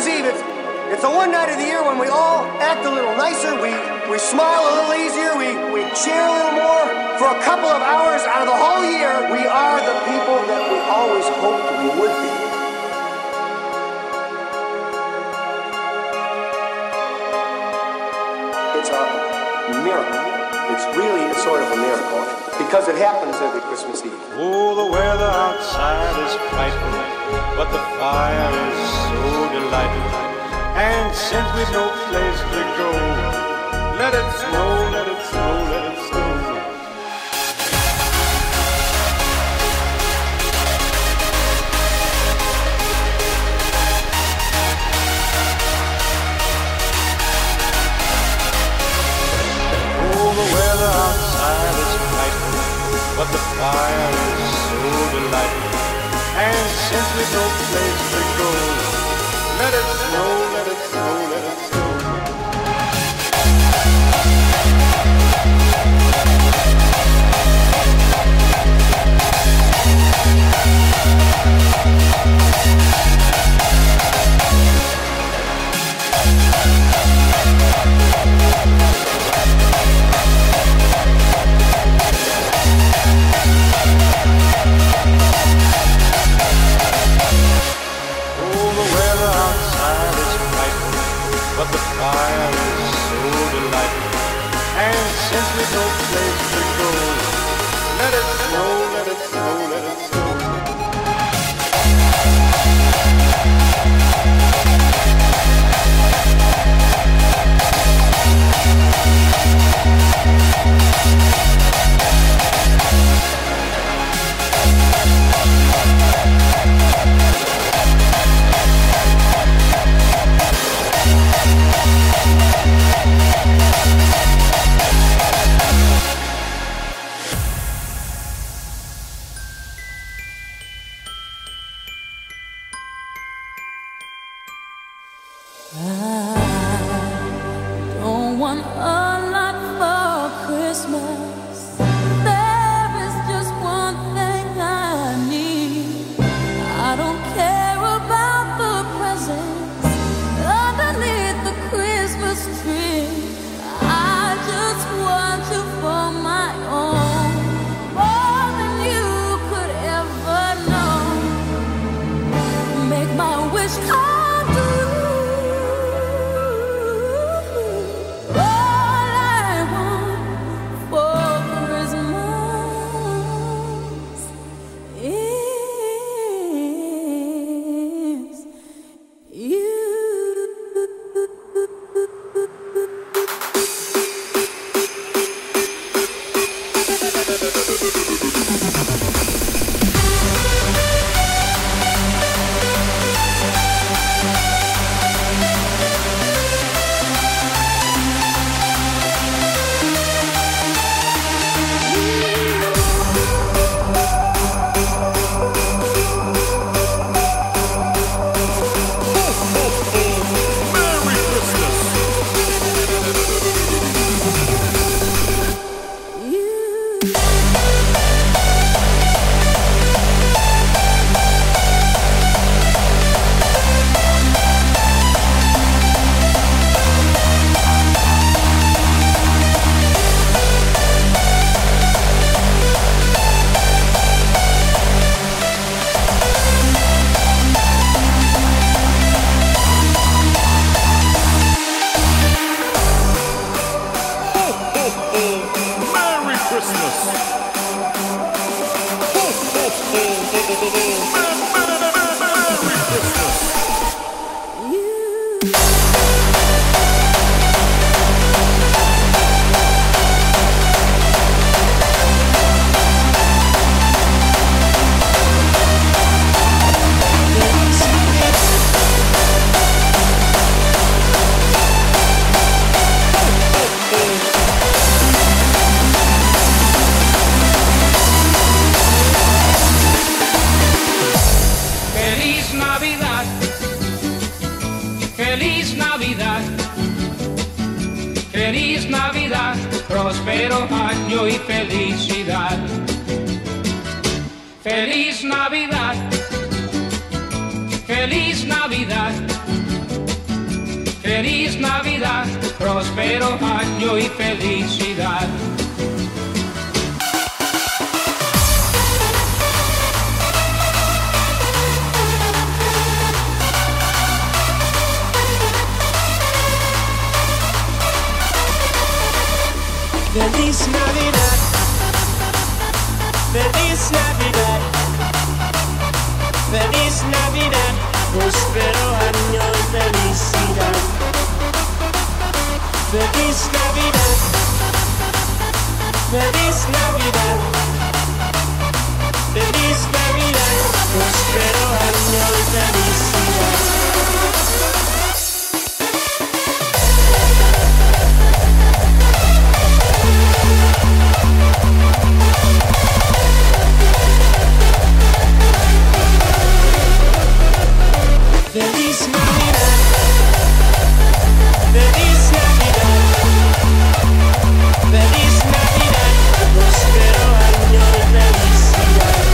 Christmas Eve, it's the one night of the year when we all act a little nicer, we smile a little easier, we cheer a little more. For a couple of hours out of the whole year, we are the people that we always hoped we would be. It's a miracle. It's really a sort of a miracle because it happens every Christmas Eve. Oh, the weather outside is frightful, but the fire is so delightful. And since we've no place to go, let it snow, let it snow, let it snow. Oh, the weather outside is frightful, but the fire is so delightful. And since we've no place to go, let it snow, let it snow, let it snow. But the fire is so delightful. And since we've no place to go, let it snow, let it snow, let it snow. Feliz Navidad, próspero año y felicidad. Feliz Navidad, feliz Navidad, feliz Navidad, próspero año y felicidad. Feliz Navidad, feliz Navidad, feliz Navidad, próspero año y felicidad. Feliz Navidad, feliz Navidad, feliz Navidad, próspero año y felicidad. Feliz Navidad, feliz Navidad, feliz Navidad, próspero año de felicidad.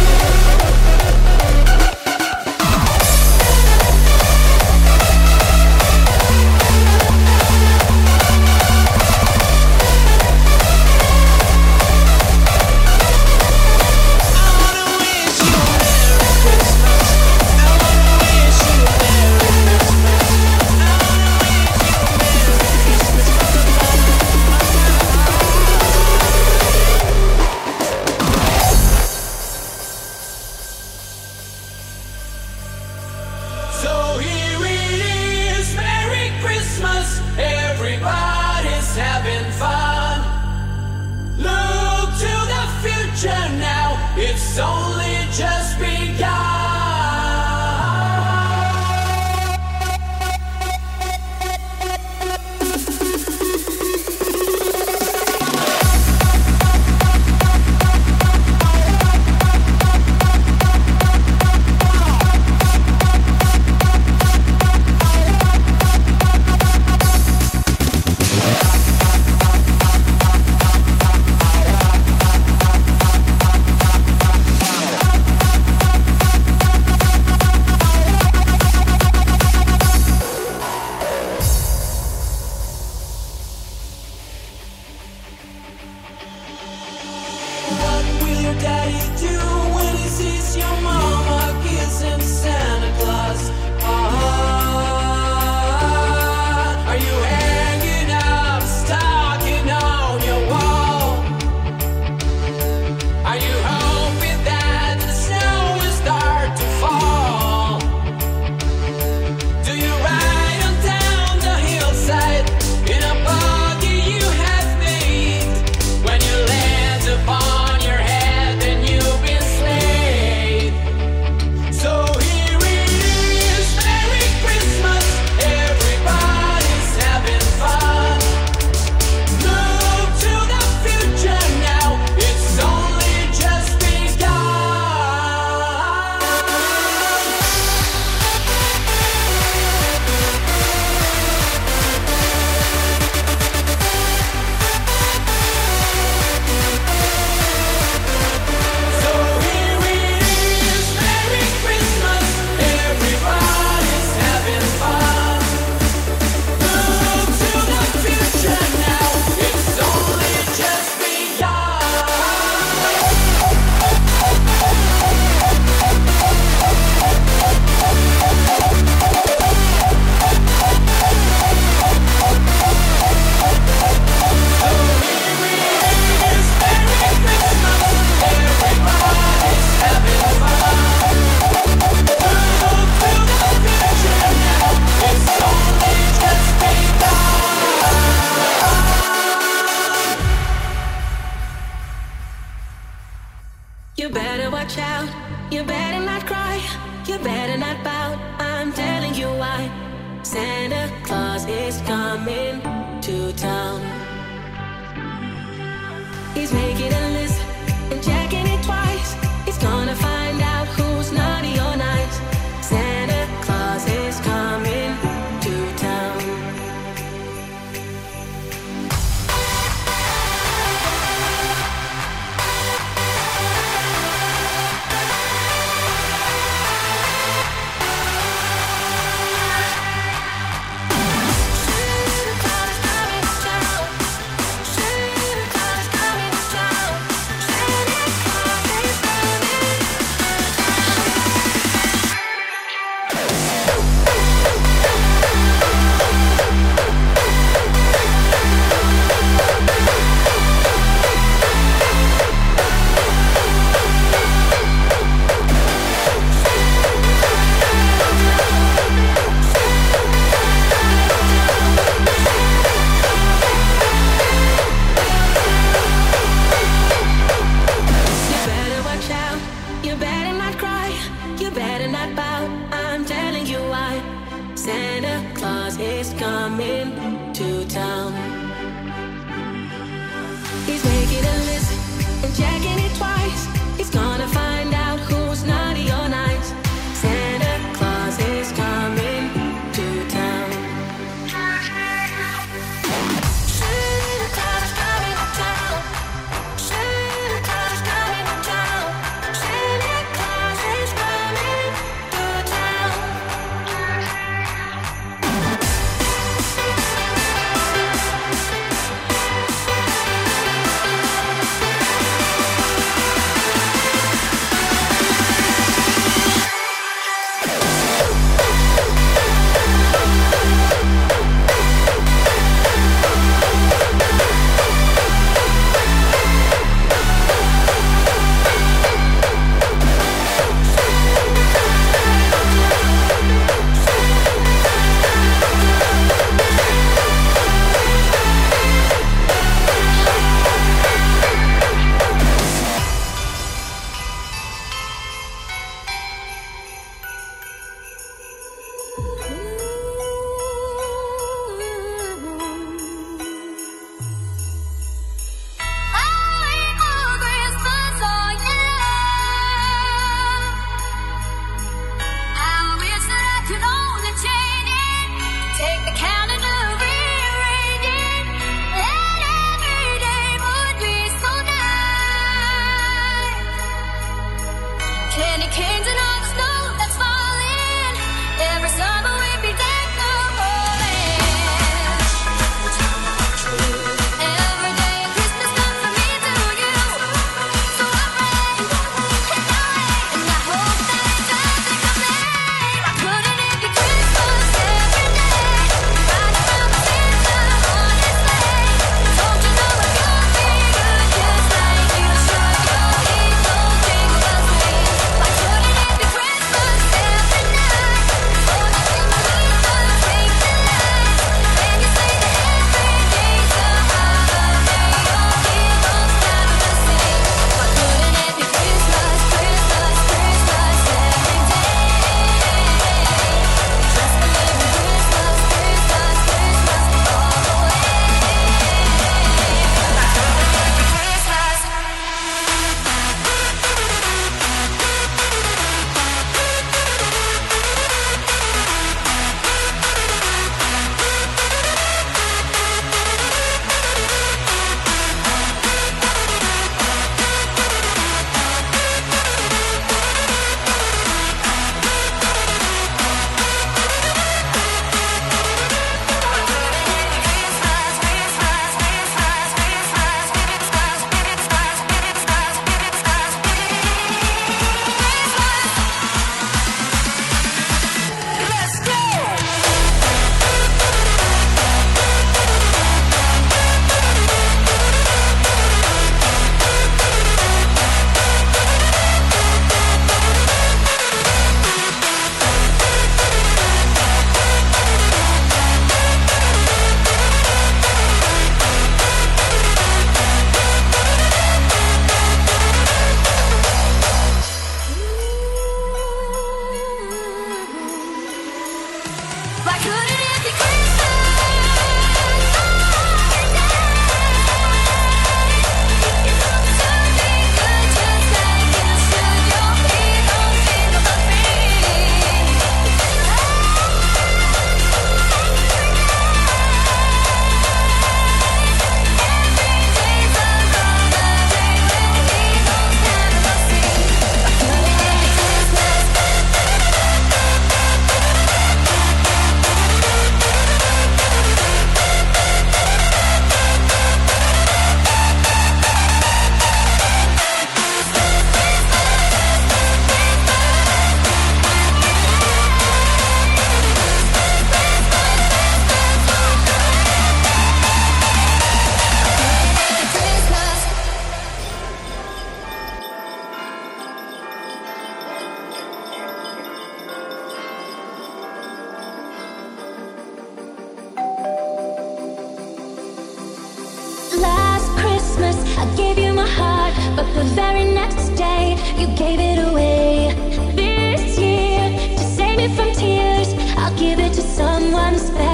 the very next day you gave it away. This year, to save me from tears, I'll give it to someone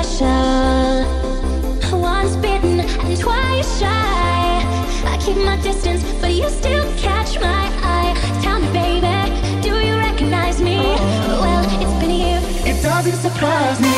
special. Once bitten and twice shy, I keep my distance, but you still catch my eye. Tell me, baby, do you recognize me? Well, it's been a year, it doesn't surprise me.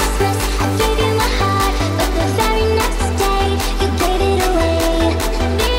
This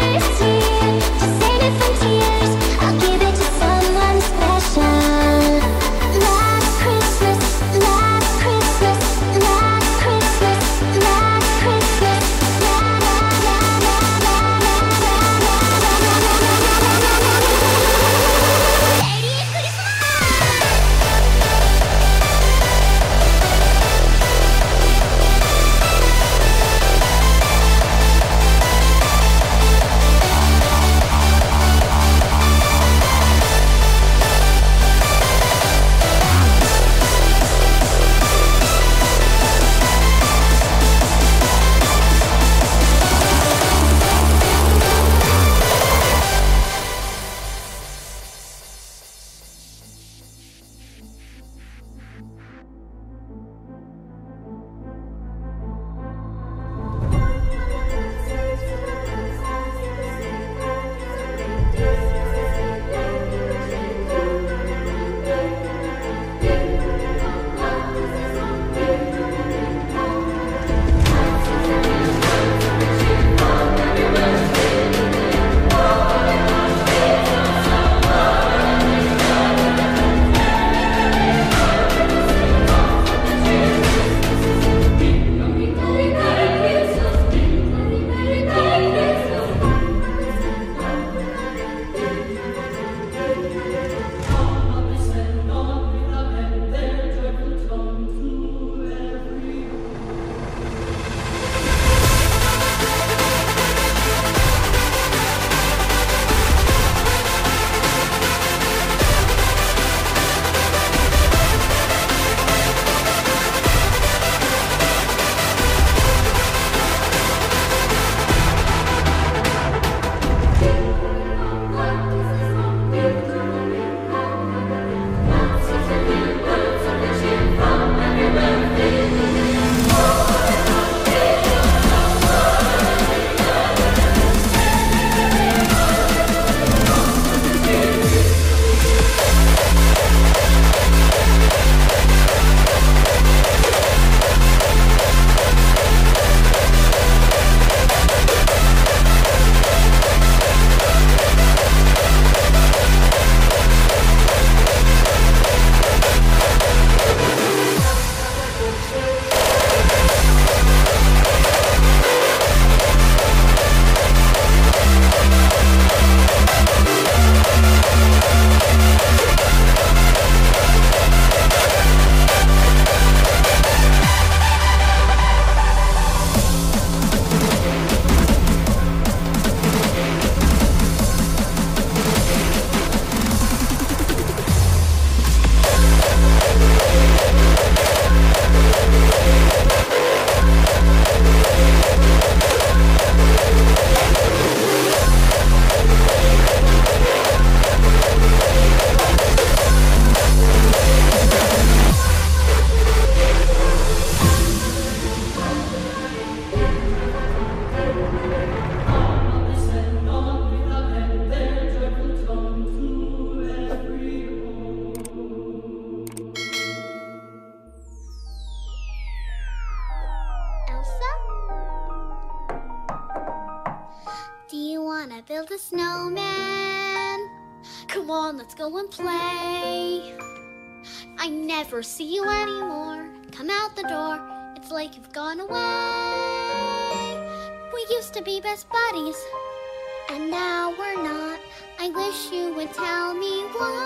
wanna build a snowman? Come on, let's go and play. I never see you anymore. Come out the door, it's like you've gone away. We used to be best buddies, and now we're not. I wish you would tell me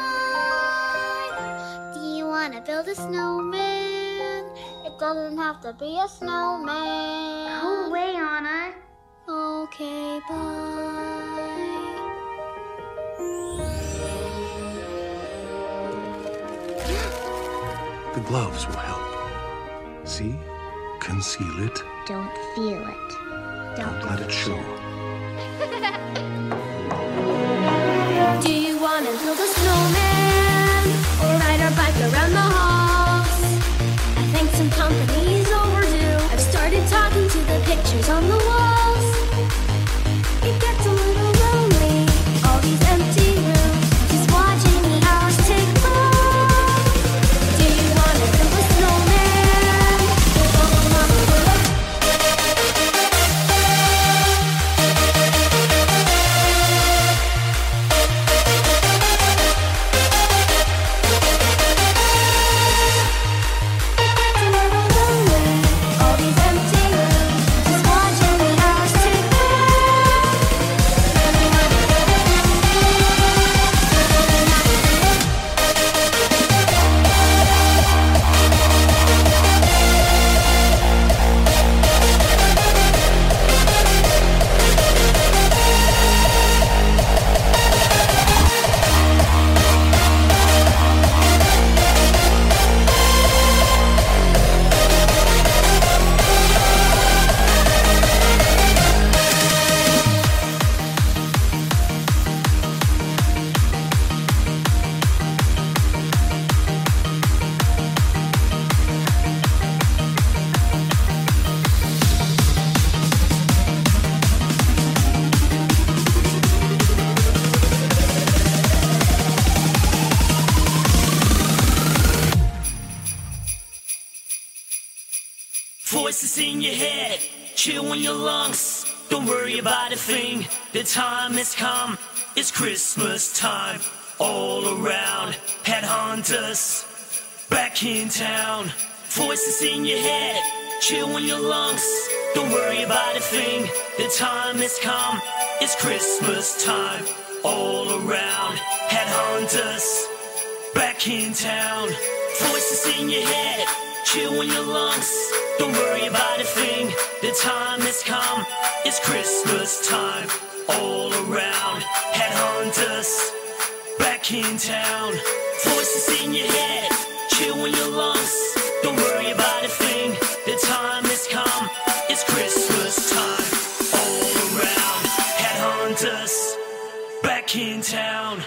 why. Do you wanna build a snowman? It doesn't have to be a snowman. Go away, Anna. Okay, bye. The gloves will help. See? Conceal it. Don't feel it. Don't let it show. Do you wanna build a snowman or ride our bike around the halls? I think some company's overdue. I've started talking to the pictures on the walls. It gets a little lonely, all these empty rooms, just watching the hours tick by. Do you wanna build a snowman? All these empty rooms, just watching the hours tick by. Voices in your head, chill in your lungs. Don't worry about a thing, the time has come. It's Christmas time, all around. Headhunters, back in town. Voices in your head, chill in your lungs. Don't worry about a thing, the time has come. It's Christmas time, all around. Headhunters, back in town. Voices in your head, chill in your lungs. Don't worry about a thing, the time has come. It's Christmas time, all around. Headhunters, back in town. Voices in your head, chill in your lungs. Don't worry about a thing, the time has come. It's Christmas time, all around. Headhunters, back in town.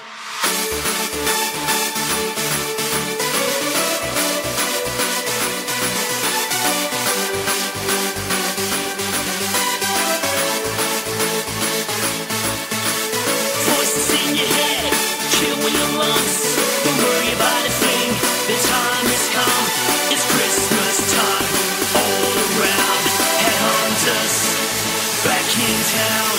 Voices in your head, chill in your lungs. Don't worry about a thing, the time has come. It's Christmas time, all around. Headhunters, back in town.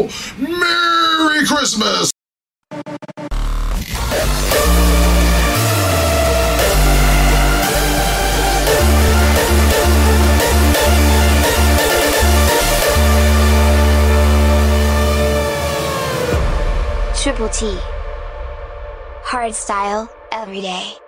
show. Merry Christmas! Triple T. Hard style, every day.